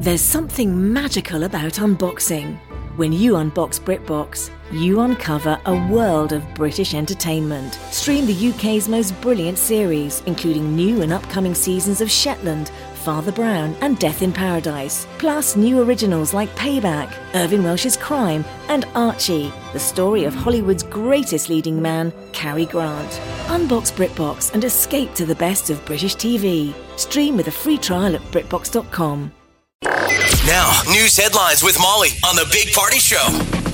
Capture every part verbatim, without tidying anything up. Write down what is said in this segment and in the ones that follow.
There's something magical about unboxing. When you unbox BritBox, you uncover a world of British entertainment. Stream the U K's most brilliant series, including new and upcoming seasons of Shetland, Father Brown and Death in Paradise. Plus new originals like Payback, Irving Welsh's Crime and Archie, the story of Hollywood's greatest leading man, Cary Grant. Unbox BritBox and escape to the best of British T V. Stream with a free trial at britbox dot com. Now, news headlines with Molly on the Big Party Show.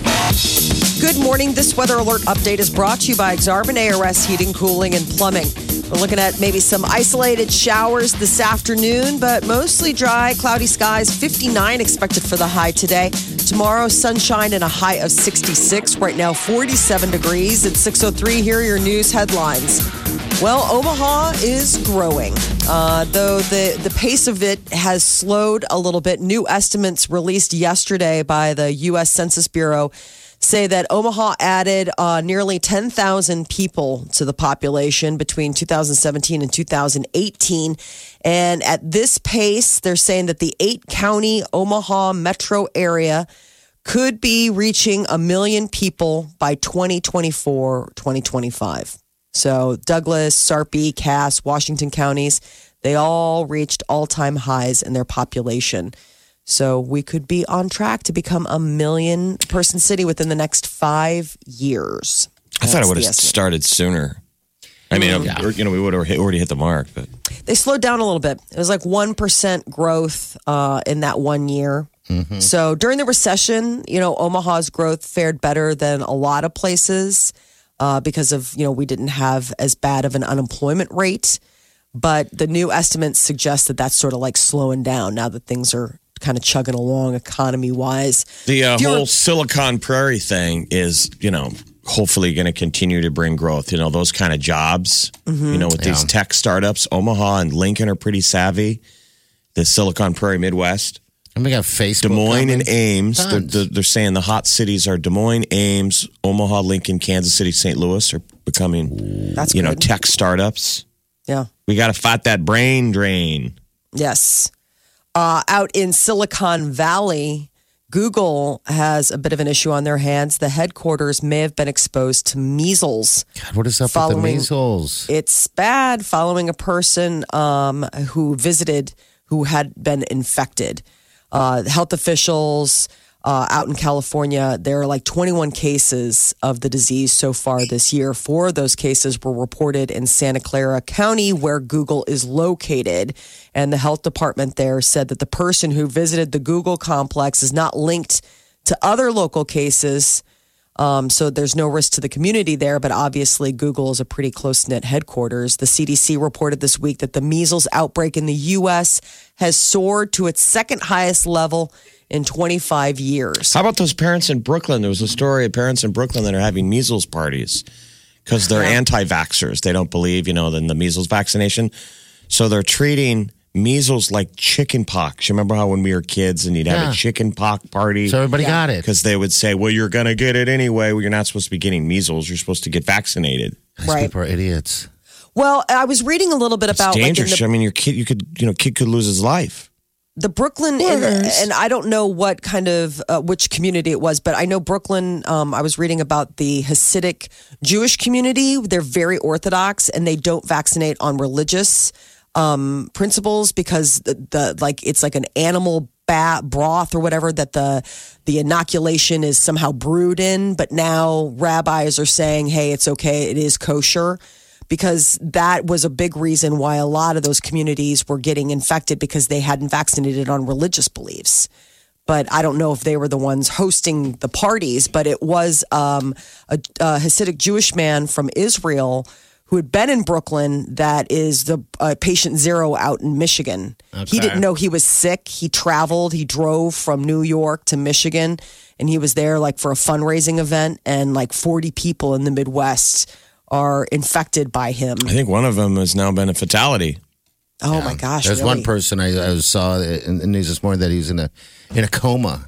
Good morning. This weather alert update is brought to you by Exarban A R S Heating, Cooling, and Plumbing. We're looking at maybe some isolated showers this afternoon, but mostly dry, cloudy skies. fifty-nine expected for the high today. Tomorrow, sunshine and a high of sixty-six. Right now, forty-seven degrees. At six oh three, here are your news headlines. Well, Omaha is growing, uh, though the, the pace of it has slowed a little bit. New estimates released yesterday by the U S Census Bureau say that Omaha added uh, nearly ten thousand people to the population between two thousand seventeen and two thousand eighteen. And at this pace, they're saying that the eight-county Omaha metro area could be reaching a million people by twenty twenty-four, twenty twenty-five. So Douglas, Sarpy, Cass, Washington counties, they all reached all-time highs in their population. So we could be on track to become a million person city within the next five years. I thought it would have started sooner. I mean, yeah. you know, we would have already hit the mark, but they slowed down a little bit. It was like one percent growth uh, in that one year. Mm-hmm. So during the recession, you know, Omaha's growth fared better than a lot of places uh, because of, you know, we didn't have as bad of an unemployment rate. But the new estimates suggest that that's sort of like slowing down now that things are kind of chugging along economy-wise. The uh, whole Silicon Prairie thing is, you know, hopefully going to continue to bring growth. You know, those kind of jobs, mm-hmm. you know, with yeah. these tech startups. Omaha and Lincoln are pretty savvy. The Silicon Prairie Midwest. And we got Facebook. Des Moines coming. and Ames. They're, they're, they're saying the hot cities are Des Moines, Ames, Omaha, Lincoln, Kansas City, Saint Louis are becoming, That's you good. know, tech startups. Yeah. We got to fight that brain drain. Yes. Uh, out in Silicon Valley, Google has a bit of an issue on their hands. The headquarters may have been exposed to measles. God, what is up with the measles? It's bad following a person um, who visited who had been infected. Uh, health officials uh, out in California, there are like twenty-one cases of the disease so far this year. Four of those cases were reported in Santa Clara County, where Google is located. And the health department there said that the person who visited the Google complex is not linked to other local cases. Um, so there's no risk to the community there, but obviously Google is a pretty close-knit headquarters. The C D C reported this week that the measles outbreak in the U S has soared to its second highest level in twenty-five years. How about those parents in Brooklyn? There was a story of parents in Brooklyn that are having measles parties because they're yeah. anti-vaxxers. They don't believe, you know, in the measles vaccination. So they're treating measles like chicken pox. You remember how when we were kids and you'd have yeah. a chicken pox party? So everybody yeah. got it. Because they would say, well, you're going to get it anyway. Well, you're not supposed to be getting measles. You're supposed to get vaccinated. These right. people are idiots. Well, I was reading a little bit it's about... dangerous. Like the, I mean, your kid, you could, you know, kid could lose his life. The Brooklyn, and, and I don't know what kind of, uh, which community it was, but I know Brooklyn, um, I was reading about the Hasidic Jewish community. They're very Orthodox and they don't vaccinate on religious um, principles because the, the like it's like an animal bat, broth or whatever that the the inoculation is somehow brewed in. But now rabbis are saying, hey, it's okay. It is kosher. Because that was a big reason why a lot of those communities were getting infected because they hadn't vaccinated on religious beliefs. But I don't know if they were the ones hosting the parties, but it was um, a, a Hasidic Jewish man from Israel who had been in Brooklyn that is the uh, patient zero out in Michigan. Okay. He didn't know he was sick. He traveled. He drove from New York to Michigan, and he was there like for a fundraising event, and like forty people in the Midwest are infected by him. I think one of them has now been a fatality. Oh yeah. my gosh! There's really? one person I, I saw in the news this morning that he's in a in a coma.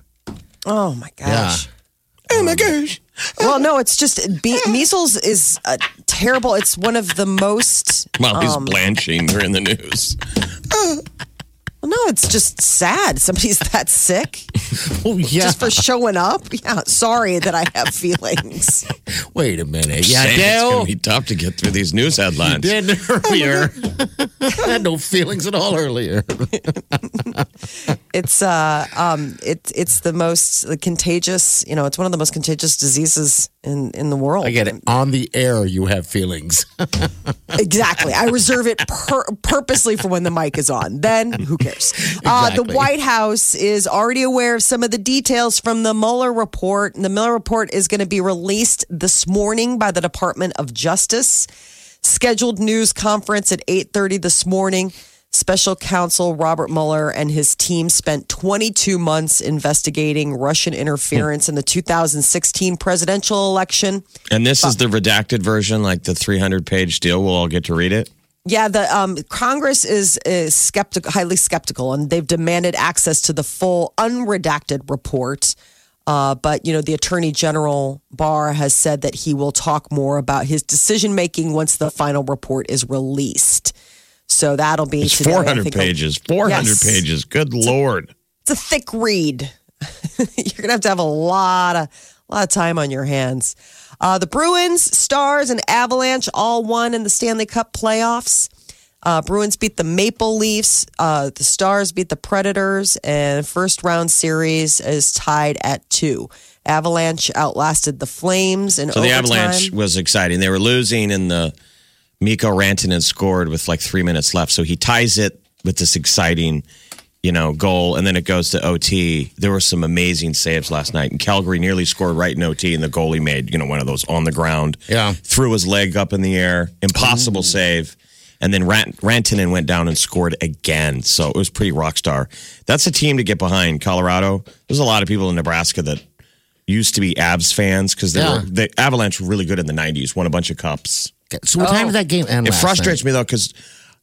Oh my gosh! Yeah. Oh my gosh! Well, no, it's just be, measles is uh, terrible. It's one of the most. Well, he's um, blanching. They're in the news. Well, no, it's just sad. Somebody's that sick. Oh, yeah. Just for showing up. Yeah, sorry that I have feelings. Wait a minute. Yeah, Saying it's Dale. going to be tough to get through these news headlines. Did earlier. I had no feelings at all earlier. It's uh um it's it's the most contagious. You know, it's one of the most contagious diseases in in the world. I get it. On the air, you have feelings. Exactly. I reserve it pur- purposely for when the mic is on. Then who cares? Uh, the Exactly. White House is already aware of some of the details from the Mueller report. And the Mueller report is going to be released this morning by the Department of Justice. Scheduled news conference at eight thirty this morning. Special counsel Robert Mueller and his team spent twenty-two months investigating Russian interference in the two thousand sixteen presidential election. And this is the redacted version, like the three hundred page deal. We'll all get to read it. Yeah, the um, Congress is, is skeptical, highly skeptical, and they've demanded access to the full unredacted report. Uh, but, you know, the Attorney General Barr has said that he will talk more about his decision making once the final report is released. So that'll be It's today, I four hundred think. pages. four hundred Yes. pages. Good Lord. It's a thick read. You're gonna have to have a lot of a lot of time on your hands. Uh, the Bruins, Stars, and Avalanche all won in the Stanley Cup playoffs. Uh, Bruins beat the Maple Leafs. Uh, the Stars beat the Predators, and first round series is tied at two. Avalanche outlasted the Flames in So the overtime. Avalanche was exciting. They were losing, and the Mikko Rantanen scored with like three minutes left. So he ties it with this exciting, you know, goal, and then it goes to O T. There were some amazing saves last night, and Calgary nearly scored right in O T, and the goalie made, you know, one of those on the ground. Yeah. Threw his leg up in the air. Impossible save. And then Rant- Rantanen went down and scored again. So it was pretty rock star. That's a team to get behind. Colorado. There's a lot of people in Nebraska that used to be Avs fans because Yeah. were the Avalanche were really good in the nineties, won a bunch of cups. So what time did that game end It last frustrates night? me though because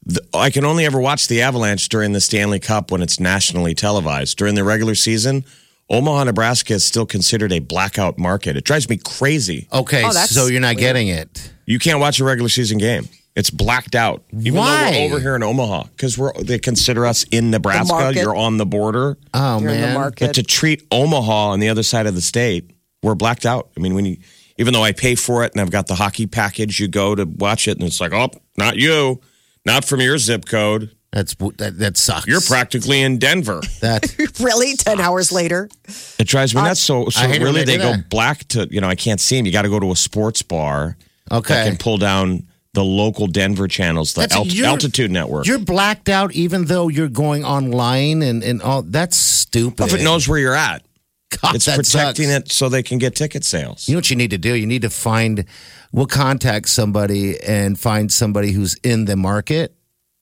I can only ever watch the Avalanche during the Stanley Cup when it's nationally televised. During the regular season, Omaha, Nebraska is still considered a blackout market. It drives me crazy. Okay, Oh, that's so you're not weird. getting it. You can't watch a regular season game. It's blacked out. Even Why? though we're over here in Omaha because we're they consider us in Nebraska. market. You're on the border. Oh, You're in the man. market. But to treat Omaha on the other side of the state, we're blacked out. I mean, when you, even though I pay for it and I've got the hockey package, you go to watch it and it's like, oh, not you, not from your zip code. That's that, that sucks. You're practically in Denver. that. Really, ten hours later. It drives me nuts. So, so I hate when really, they they do go that. black to, you know, I can't see them. You got to go to a sports bar Okay. that can pull down the local Denver channels, the That's- Alt- you're- Altitude Network. You're blacked out even though you're going online and, and all. That's stupid. If it knows where you're at, God, it's that protecting sucks. it so they can get ticket sales. You know what you need to do? You need to find, we'll contact somebody and find somebody who's in the market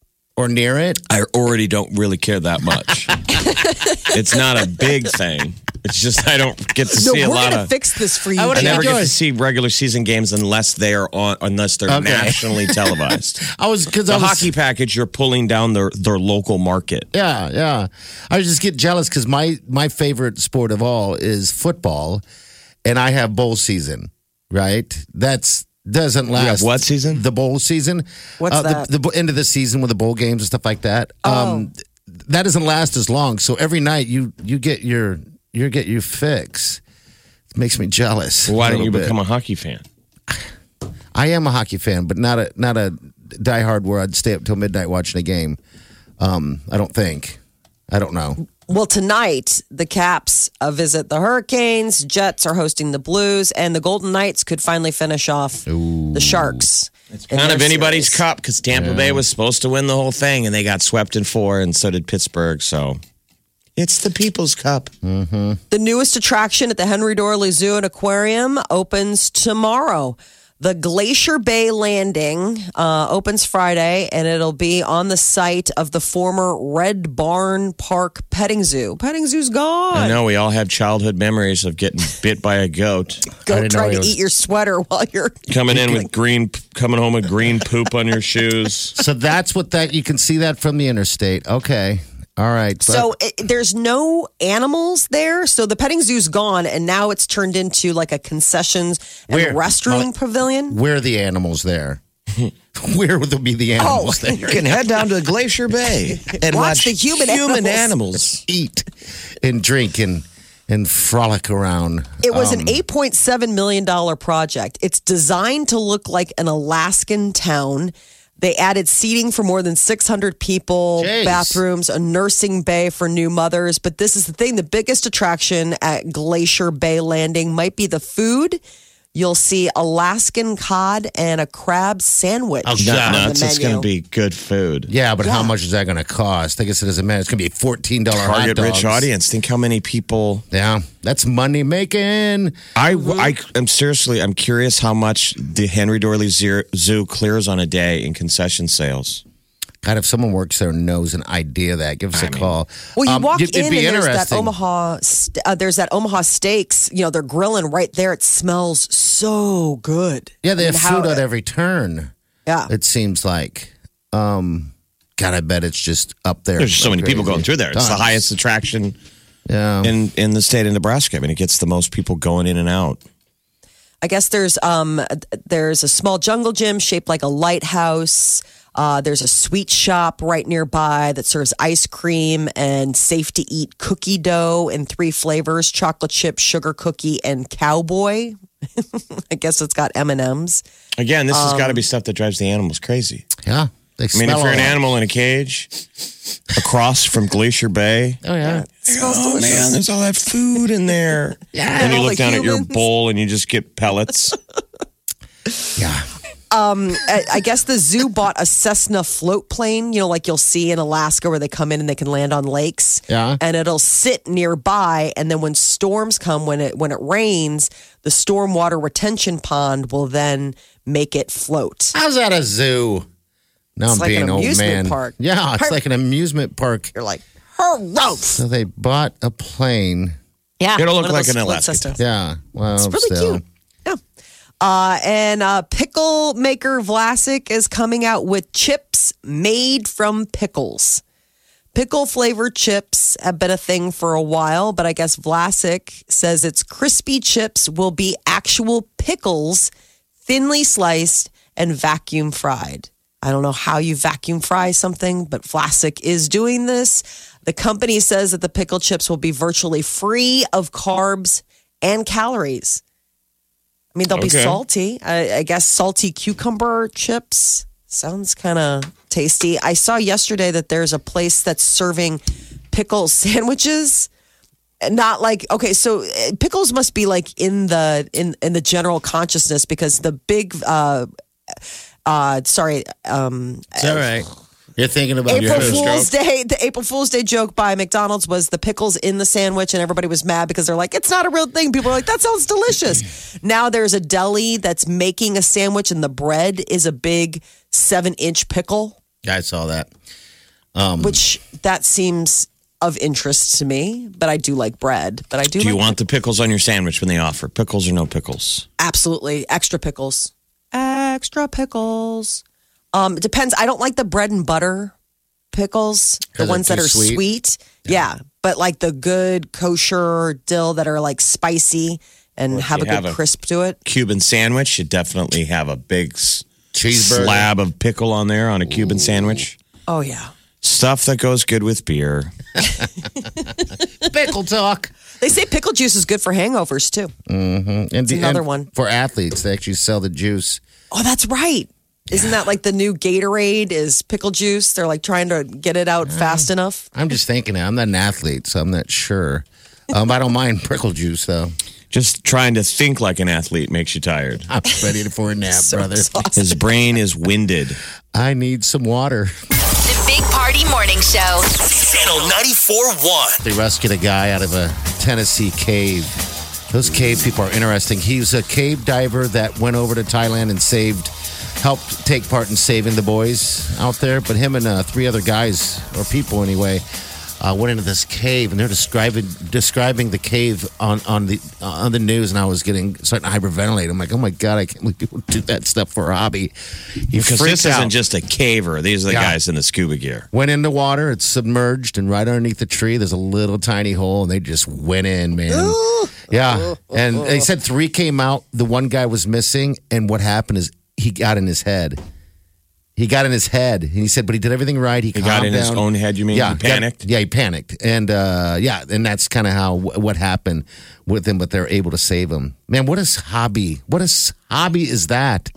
or near it. I already don't really care that much. It's not a big thing. It's just I don't get to No, see a we're lot gonna of. fix this for you. I I would've Jeff. never get to Joyce. see regular season games unless they are on, unless they're Okay. nationally televised. I was because The I was hockey package, you're pulling down their their local market. Yeah, yeah. I just get jealous because my my favorite sport of all is football, and I have bowl season. Right? That's doesn't last. You have what season? The bowl season. What's uh, that? The, the end of the season with the bowl games and stuff like that. Oh. Um, that doesn't last as long. So every night you you get your you get your fix. It makes me jealous. Why a don't you little bit. become a hockey fan? I am a hockey fan, but not a not a diehard where I'd stay up till midnight watching a game. Um, I don't think. I don't know. Well, tonight, the Caps uh, visit the Hurricanes, Jets are hosting the Blues, and the Golden Knights could finally finish off the Sharks. It's Kind of anybody's cup because Tampa Bay was supposed to win the whole thing and they got swept in four, and so did Pittsburgh. So it's the People's Cup. The newest attraction at the Henry Dorley Zoo and Aquarium opens tomorrow. The Glacier Bay Landing uh, opens Friday, and it'll be on the site of the former Red Barn Park Petting Zoo. Petting Zoo's gone. I know we all have childhood memories of getting bit by a goat, I Go didn't know try he to was- eat your sweater while you're coming in with green, coming home with green poop on your shoes. So that's what that you can see that from the interstate. Okay. All right. But So it, there's no animals there. So the petting zoo's gone, and now it's turned into like a concessions and Where? restroom Molly- pavilion. where are the animals there? Where would be the animals Oh, there? You can head down to Glacier Bay and Watch watch, the human human animals. animals. Eat and drink and and frolic around. It was Um, an eight point seven million dollars project. It's designed to look like an Alaskan town. They added seating for more than six hundred people, Jeez. bathrooms, a nursing bay for new mothers. But this is the thing, the biggest attraction at Glacier Bay Landing might be the food. You'll see Alaskan cod and a crab sandwich. Oh, on God. the Nuts. It's menu. going to be good food. Yeah, but how Yeah. much is that going to cost? I guess it doesn't matter. It's going to be a fourteen dollars hot Target dogs. rich audience. Think how many people. Yeah, that's money making. I, I am seriously, I'm curious how much the Henry Dorley Zoo Zoo clears on a day in concession sales. God, if someone works there and knows an idea of that, give us a call. Well, you Um, walk it'd in and be there's that interesting. Omaha, st- uh, there's that Omaha Steaks. You know, they're grilling right there. It smells so good. Yeah, they I have mean, how- food at every turn. Yeah. It seems like. Um, God, I bet it's just up there. There's so many people Crazy. going through there. It's the Tons. highest attraction Yeah. in, in the state of Nebraska. I mean, it gets the most people going in and out. I guess there's um there's a small jungle gym shaped like a lighthouse. Uh, there's a sweet shop right nearby that serves ice cream and safe to eat cookie dough in three flavors: chocolate chip, sugar cookie, and cowboy. I guess it's got M and M's. Again, this has Um, got to be stuff that drives the animals crazy. yeah. They I mean, if smell you're an all that. animal in a cage across from Glacier Bay, Oh, yeah. oh man, there's all that food in there. And Yeah, and you all look the down at your humans. bowl and you just get pellets. Yeah. I, I guess the zoo bought a Cessna float plane, you know, like you'll see in Alaska where they come in and they can land on lakes. Yeah. And it'll sit nearby. And then when storms come, when it when it rains, the stormwater retention pond will then make it float. How's that a zoo? Now It's I'm like being an old amusement man. park. Yeah, it's Park. like an amusement park. You're like, gross. So they bought a plane. Yeah. It'll look one of like those an split Alaska systems. Yeah. Well, It's really still. cute. Yeah. Uh, and uh, pickle maker Vlasic is coming out with chips made from pickles. Pickle flavored chips have been a thing for a while, but I guess Vlasic says its crispy chips will be actual pickles, thinly sliced and vacuum fried. I don't know how you vacuum fry something, but Vlasic is doing this. The company says that the pickle chips will be virtually free of carbs and calories. I mean, they'll be Okay. salty. I, I guess salty cucumber chips sounds kind of tasty. I saw yesterday that there's a place that's serving pickle sandwiches. Not like okay, so uh, pickles must be like in the in in the general consciousness because the big uh uh sorry um It's all right. You're thinking about April your Fool's Day, the April Fool's Day joke by McDonald's was the pickles in the sandwich, and everybody was mad because they're like, it's not a real thing. People are like, that sounds delicious. Now there's a deli that's making a sandwich, and the bread is a big seven inch pickle, I saw that. which that seems of interest to me. But I do like bread. But I do. Do you like want the pickles on your sandwich when they offer? Pickles or no pickles? absolutely extra pickles, extra pickles. Um, it depends. I don't like the bread and butter pickles, the 'Cause they're ones that too are sweet? sweet. Yeah. But like the good kosher dill that are like spicy and have a you good have a- crisp to it. Cuban sandwich, you definitely have a big s- Cheeseburger. slab of pickle on there on a Cuban sandwich. Oh yeah. Stuff that goes good with beer. Pickle talk. They say pickle juice is good for hangovers too. And the- another and one. For athletes, they actually sell the juice. Oh, that's right. Isn't that like the new Gatorade is pickle juice? They're like trying to get it out fast enough. I'm just thinking, I'm not an athlete, so I'm not sure. Um, I don't mind pickle juice, though. Just trying to think like an athlete makes you tired. I'm ready for a nap, So brother. exhausted. His brain is winded. I need some water. The Big Party Morning Show. Channel ninety-four point one. They rescued a guy out of a Tennessee cave. Those cave people are interesting. He's a cave diver that went over to Thailand and saved, helped take part in saving the boys out there. But him and uh, three other guys, or people anyway, uh, went into this cave, and they're describing describing the cave on on the uh, on the news. And I was getting starting to hyperventilate. I'm like, oh my god, I can't believe people do that stuff for a hobby. You Because freak this out. isn't just a caver. These are the Yeah. guys in the scuba gear. Went in the water, it's submerged, and right underneath the tree, there's a little tiny hole, and they just went in, man. Yeah. And they said three came out. The one guy was missing, and what happened is he got in his head. He got in his head, and he said, but he did everything right. He, He calmed got in his down. own head, you mean? Yeah, He panicked? Yeah, he panicked, and uh, yeah, and that's kind of how what happened with him. But they're able to save him. Man, what a hobby! What a s- hobby is that?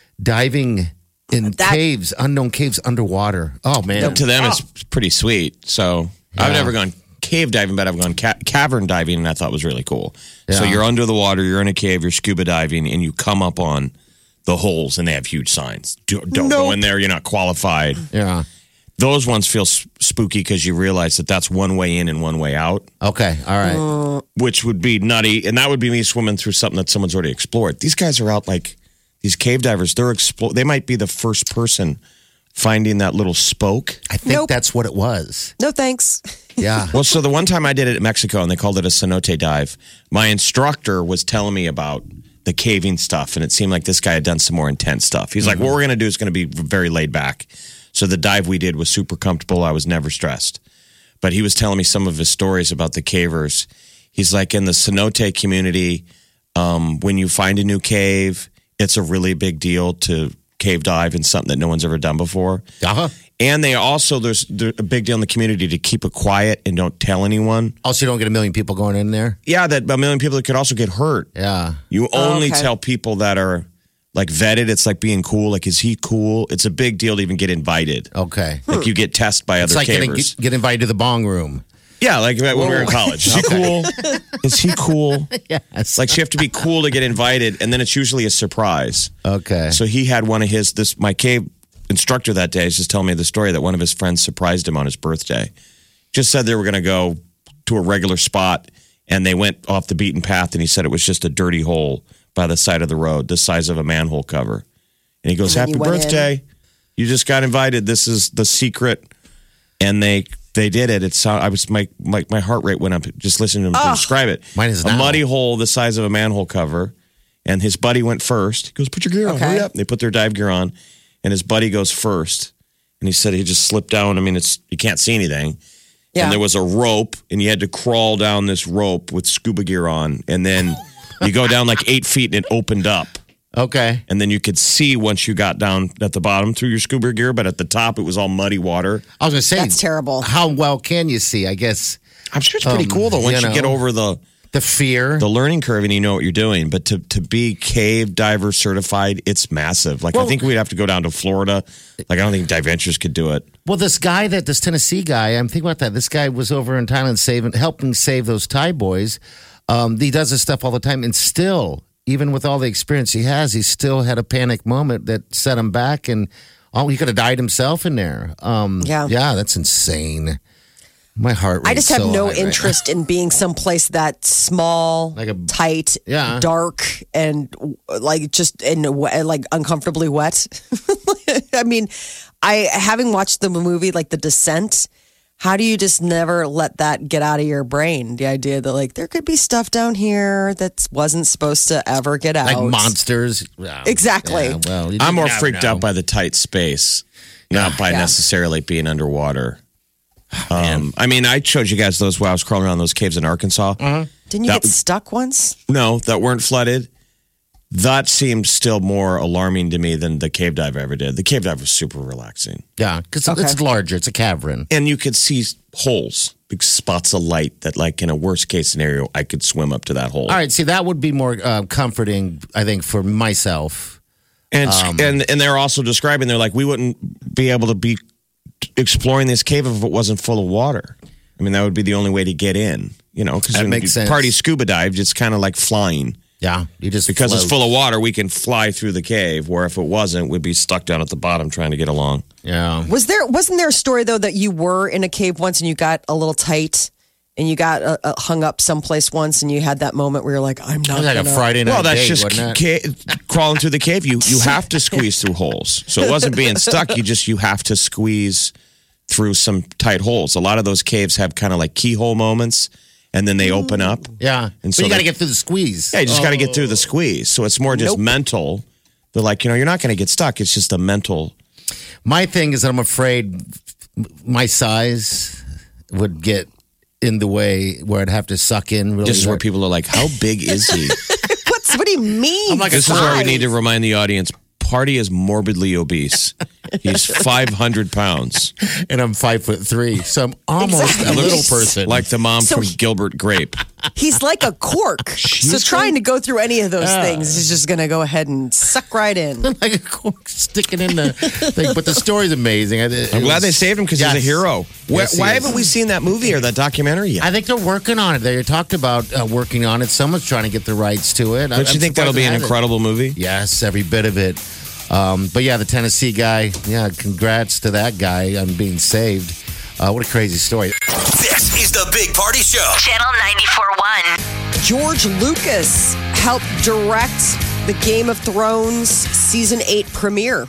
Diving in That- caves, unknown caves underwater. Oh man, To them, it's pretty sweet. So I've Yeah. never gone cave diving, but I've gone ca- cavern diving, and I thought was really cool. So Yeah. you're under the water, you're in a cave, you're scuba diving, and you come up on the holes, and they have huge signs. Do, don't go in there, you're not qualified. yeah. Those ones feel s- spooky because you realize that that's one way in and one way out, Okay, all right. which would be nutty. And that would be me swimming through something that someone's already explored. These guys are out like these cave divers. They're explore. They might be the first person finding that little spoke. I think Nope. that's what it was. No thanks. Yeah. Well, so the one time I did it in Mexico and they called it a cenote dive, my instructor was telling me about the caving stuff, and it seemed like this guy had done some more intense stuff. He's like, what we're going to do is going to be very laid back. So the dive we did was super comfortable. I was never stressed. But he was telling me some of his stories about the cavers. He's like, in the cenote community, um, when you find a new cave, it's a really big deal to cave dive in something that no one's ever done before. Uh-huh. And they also, there's, there's a big deal in the community to keep it quiet and don't tell anyone. Also, you don't get a million people going in there. Yeah, that a million people could also get hurt. Yeah. You only okay. tell people that are like vetted. It's like being cool. Like, is he cool? It's a big deal to even get invited. Okay. Like, you get tested by It's other like getting, cavers. get invited to the bong room. Yeah, like when we were in college. Is he cool? Is he cool? Yes. Like, so you have to be cool to get invited, and then it's usually a surprise. Okay. So he had one of his, this my cave instructor that day is just telling me the story that one of his friends surprised him on his birthday. Just said they were going to go to a regular spot, and they went off the beaten path, and he said it was just a dirty hole by the side of the road, the size of a manhole cover. And he goes, And then happy you went birthday. You just got invited. This is the secret. And they they did it. It's I was my my, my heart rate went up just listening to him describe it. Mine is a now. muddy hole the size of a manhole cover. And his buddy went first. He goes, put your gear on. Okay. Hurry up. They put their dive gear on. And his buddy goes first. And he said he just slipped down. I mean, it's you can't see anything. Yeah. And there was a rope, and you had to crawl down this rope with scuba gear on. And then you go down like eight feet, and it opened up. Okay. And then you could see once you got down at the bottom through your scuba gear, but at the top, it was all muddy water. I was going to say. That's terrible. How well can you see? I guess I'm sure it's pretty Um, cool, though, once you you, get know. over the, the fear. the learning curve and you know what you're doing. But to, to be cave diver certified, it's massive. Like, I Well- think we'd have to go down to Florida. Like, I don't think Dive Ventures could do it. Well, this guy that this Tennessee guy, I'm thinking about that. This guy was over in Thailand saving, helping save those Thai boys. Um, he does this stuff all the time, and still, even with all the experience he has, he still had a panic moment that set him back, and oh, he could have died himself in there. Um, Yeah. yeah, that's insane. My heart. I just have rate's so no high right interest in being someplace that small, Like a- tight, Yeah. dark, and like just in like uncomfortably wet. I mean, I having watched the movie like The Descent. How do you just never let that get out of your brain? The idea that like there could be stuff down here that wasn't supposed to ever get out, Like monsters. Yeah. Exactly. Yeah, well, you I'm more never freaked know. out by the tight space, not by Yeah. necessarily being underwater. Um, I mean, I showed you guys those while I was crawling around those caves in Arkansas. Didn't you That- get stuck once? No, that weren't flooded. That seemed still more alarming to me than the cave dive I ever did. The cave dive was super relaxing. Yeah, because Okay. it's larger. It's a cavern. And you could see holes, big spots of light that, like, in a worst case scenario, I could swim up to that hole. All right, see, that would be more uh, comforting, I think, for myself. And, Um, and and they're also describing, they're like, we wouldn't be able to be exploring this cave if it wasn't full of water. I mean, that would be the only way to get in, you know, because That makes sense. party scuba dive, it's kind of like flying. Yeah, you just Because it's float. full of water, we can fly through the cave, where if it wasn't, we'd be stuck down at the bottom trying to get along. Yeah. Was there wasn't there a story though that you were in a cave once and you got a little tight and you got uh, uh, hung up someplace once and you had that moment where you're like, I'm It not was like a gonna- Friday night Well, that's date, just wasn't it? ca- crawling through the cave. You you have to squeeze through holes. So it wasn't being stuck. You just you have to squeeze through some tight holes. A lot of those caves have kind of like keyhole moments, and then they open up. Yeah. And so so you got to they- get through the squeeze. Yeah, you just got to get through the squeeze. So it's more just Nope. mental. They're like, you know, you're not going to get stuck. It's just a mental. My thing is that I'm afraid my size would get in the way where I'd have to suck in really This is where hard. people are like, how big is he? What's what do you mean? I'm like a This is where we size? need to remind the audience. Party is morbidly obese. He's five hundred pounds. And I'm five foot three, so I'm almost Exactly. a little person. Like the mom So from he- Gilbert Grape. He's like a cork. so trying to go through any of those Yeah. things is just going to go ahead and suck right in. like a cork sticking in the thing. But the story's amazing. I- it I'm glad was- they saved him because Yes. he's a hero. Why, Yes, he why is. haven't we seen that movie or that documentary yet? I think they're working on it. They talked about uh, working on it. Someone's trying to get the rights to it. Don't you think that'll be an incredible movie? Yes, every bit of it. Um, but yeah, the Tennessee guy, yeah, congrats to that guy on being saved. Uh, what a crazy story. This is the Big Party Show. Channel ninety-four point one. George Lucas helped direct the Game of Thrones season eight premiere.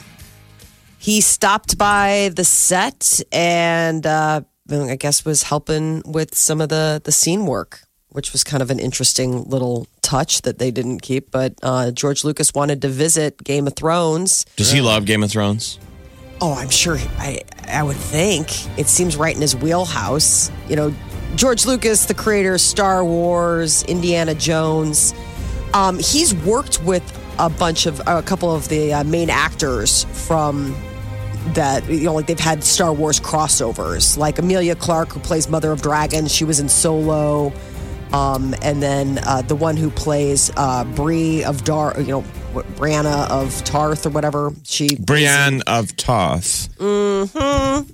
He stopped by the set and uh, I guess was helping with some of the, the scene work, which was kind of an interesting little touch that they didn't keep. But uh, George Lucas wanted to visit Game of Thrones. Does he love Game of Thrones? Oh, I'm sure. I I would think it seems right in his wheelhouse. You know, George Lucas, the creator of Star Wars, Indiana Jones. Um, he's worked with a bunch of a couple of the uh, main actors from that. You know, like they've had Star Wars crossovers, like Emilia Clarke, who plays Mother of Dragons. She was in Solo. Um, and then uh, the one who plays uh, Bree of Dar, you know, what, Brianna of Tarth or whatever. She Brienne of Tarth. Uh,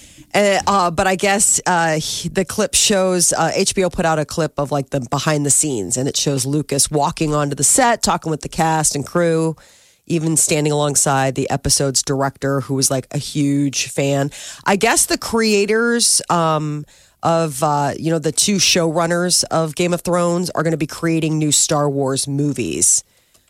uh, but I guess uh, he- the clip shows uh, H B O put out a clip of like the behind the scenes, and it shows Lucas walking onto the set, talking with the cast and crew, even standing alongside the episode's director, who was like a huge fan. I guess the creators um, of uh, you know the two showrunners of Game of Thrones are going to be creating new Star Wars movies.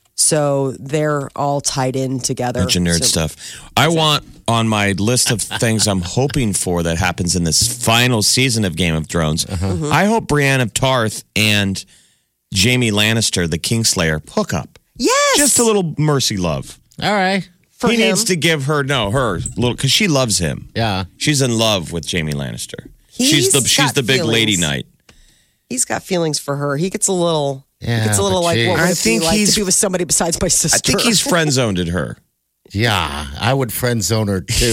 So they're all tied in together. Bunch of nerd So- stuff. I want on my list of things I'm hoping for that happens in this final season of Game of Thrones. Mm-hmm. I hope Brienne of Tarth and Jaime Lannister, the Kingslayer, hook up. Yes, Just a little mercy love. All right. for he him. needs to give her no her little because she loves him. Yeah. She's in love with Jaime Lannister. she's He's the she's got the big lady feelings. knight. He's got feelings for her. He gets a little. Yeah, he gets a little but like, geez. what would I it think be like he's- to be with somebody besides my sister? I think he's friend zoned her. Yeah. I would friend zone her too.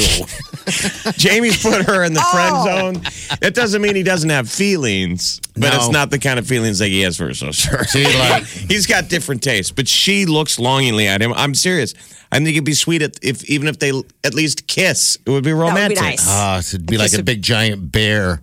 Jamie's put her in the Oh. friend zone. It doesn't mean he doesn't have feelings, but No. it's not the kind of feelings that he has for her sister. See, like- He's got different tastes, but she looks longingly at him. I'm serious. I think it'd be sweet if, if even if they at least kiss, it would be That would romantic. be nice. Ah, so it'd be like a big giant bear.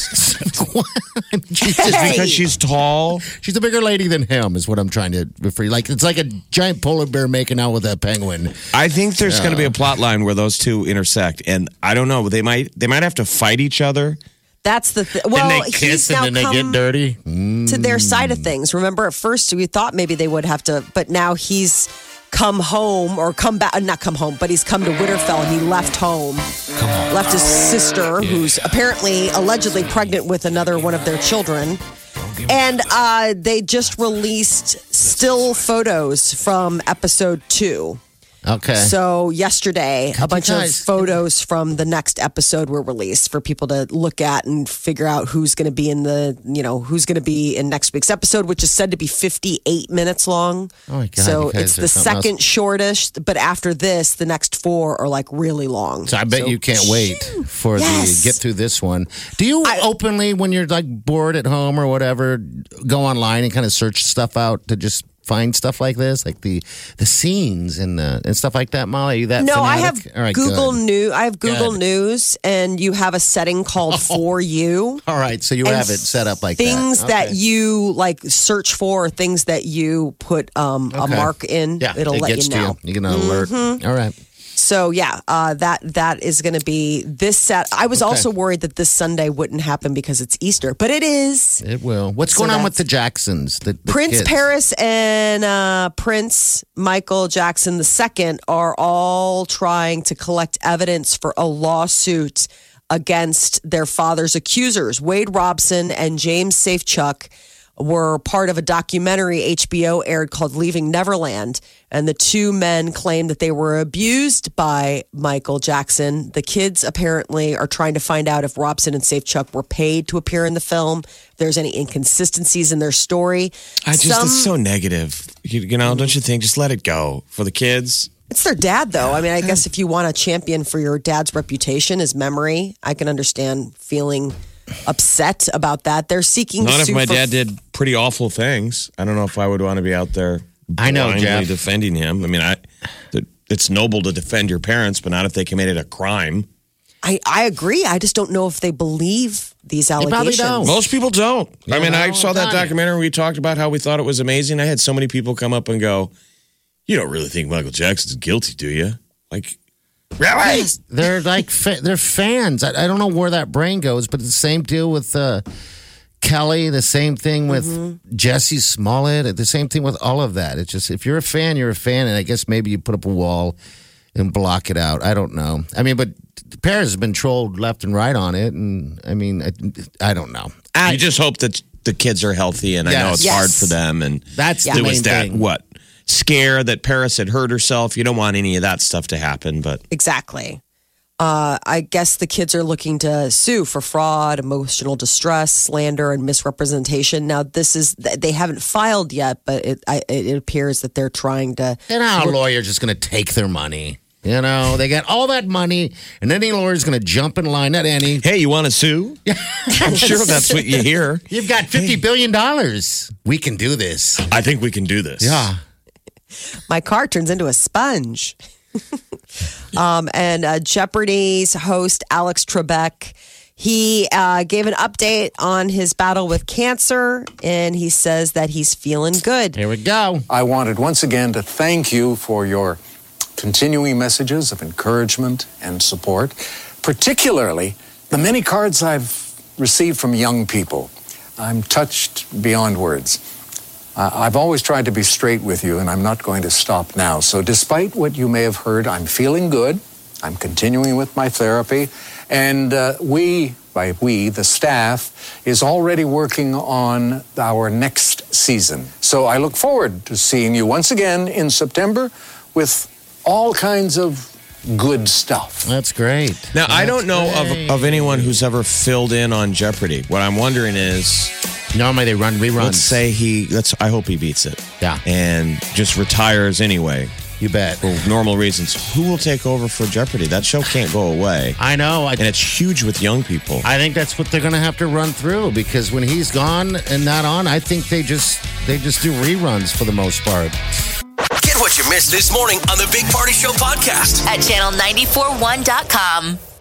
she's, just, Hey. Because she's tall. she's a bigger lady than him, is what I'm trying to refer. Like it's like a giant polar bear making out with a penguin. I think there's going to be a plot line where those two intersect, and I don't know. They might they might have to fight each other. That's the th- well. and they he's kiss now and then they get come dirty. to their side of things. Remember, at first we thought maybe they would have to, but now he's come home or come back. uh, Not come home, but he's come to Winterfell and he left home. Left his sister, who's apparently allegedly pregnant with another one of their children. And uh, they just released still photos from episode two. Okay. So yesterday, a bunch of guys- photos from the next episode were released for people to look at and figure out who's going to be in the, you know, who's going to be in next week's episode, which is said to be fifty-eight minutes long. Oh my God, So you guys it's are the something second else. shortest, but after this, the next four are like really long. So I bet you can't wait for Yes. the get through this one. Do you I- openly, when you're like bored at home or whatever, go online and kind of search stuff out to just find stuff like this, like the the scenes and the, and stuff like that? Molly, are you that? No, I have fanatic? All right, Google good. News. I have Google Good. News, and you have a setting called For You. All right, so you And have it set up like things that. that Okay. you like search for, or things that you put um, a Okay. mark in. Yeah, it'll it let gets you know. to you. You get an alert. All right. So yeah, uh, that that is going to be this set. I was Okay. also worried that this Sunday wouldn't happen because it's Easter, but it is. It will. What's So going on with that's- the Jacksons? The, the Prince kids? Paris and uh, Prince Michael Jackson the Second are all trying to collect evidence for a lawsuit against their father's accusers. Wade Robson and James Safechuck were part of a documentary H B O aired called Leaving Neverland. And the two men claimed that they were abused by Michael Jackson. The kids apparently are trying to find out if Robson and Safechuck were paid to appear in the film, if there's any inconsistencies in their story. I just Some- it's so negative. You, you know, don't you think? Just let it go for the kids. It's their dad, though. I mean, I guess if you want a champion for your dad's reputation, his memory, I can understand feeling upset about that. They're seeking. Not if sue my for- dad did pretty awful things. I don't know if I would want to be out there. I know, blindly Jeff. defending him. I mean, I. It's noble to defend your parents, but not if they committed a crime. I, I agree. I just don't know if they believe these probably allegations. don't. Most people don't. I mean, know, I saw that done it. documentary. We talked about how we thought it was amazing. I had so many people come up and go, "You don't really think Michael Jackson's guilty, do you?" Like, really? They're like fa- they're fans. I, I don't know where that brain goes, but it's the same deal with uh, Kelly. The same thing with Mm-hmm. Jesse Smollett. The same thing with all of that. It's just if you're a fan, you're a fan, and I guess maybe you put up a wall and block it out. I don't know. I mean, but Paris has been trolled left and right on it, and I mean, I, I don't know. I, You just hope that the kids are healthy, and I know Yes. it's Yes. hard for them. And That's the there main was that thing. what scare that Paris had hurt herself. You don't want any of that stuff to happen, but Exactly. Uh, I guess the kids are looking to sue for fraud, emotional distress, slander, and misrepresentation. Now, this is they haven't filed yet, but it I, it appears that they're trying to. And our lawyer's just going to take their money. You know, they got all that money, and any lawyer's going to jump in line. Not any. hey, you want to sue? I'm sure that's what you hear. You've got fifty billion dollars. We can do this. I think we can do this. Yeah. My car turns into a sponge. um, and uh, Jeopardy's host, Alex Trebek, he uh, gave an update on his battle with cancer, and he says that he's feeling good. Here we go. I wanted once again to thank you for your continuing messages of encouragement and support, particularly the many cards I've received from young people. I'm touched beyond words. Uh, I've always tried to be straight with you, and I'm not going to stop now. So despite what you may have heard, I'm feeling good. I'm continuing with my therapy. And uh, we, by we, the staff, is already working on our next season. So I look forward to seeing you once again in September with all kinds of good stuff. That's great. Now, I don't know great. of, of anyone who's ever filled in on Jeopardy. What I'm wondering is, Normally they run reruns. let's say he, let's. I hope he beats it. Yeah. And just retires anyway You bet. for normal reasons. Who will take over for Jeopardy? That show can't go away, I know. I, and it's huge with young people. I think that's what they're going to have to run through because when he's gone and not on, I think they just they just do reruns for the most part. Get what you missed this morning on the Big Party Show podcast. At channel nine four one dot com.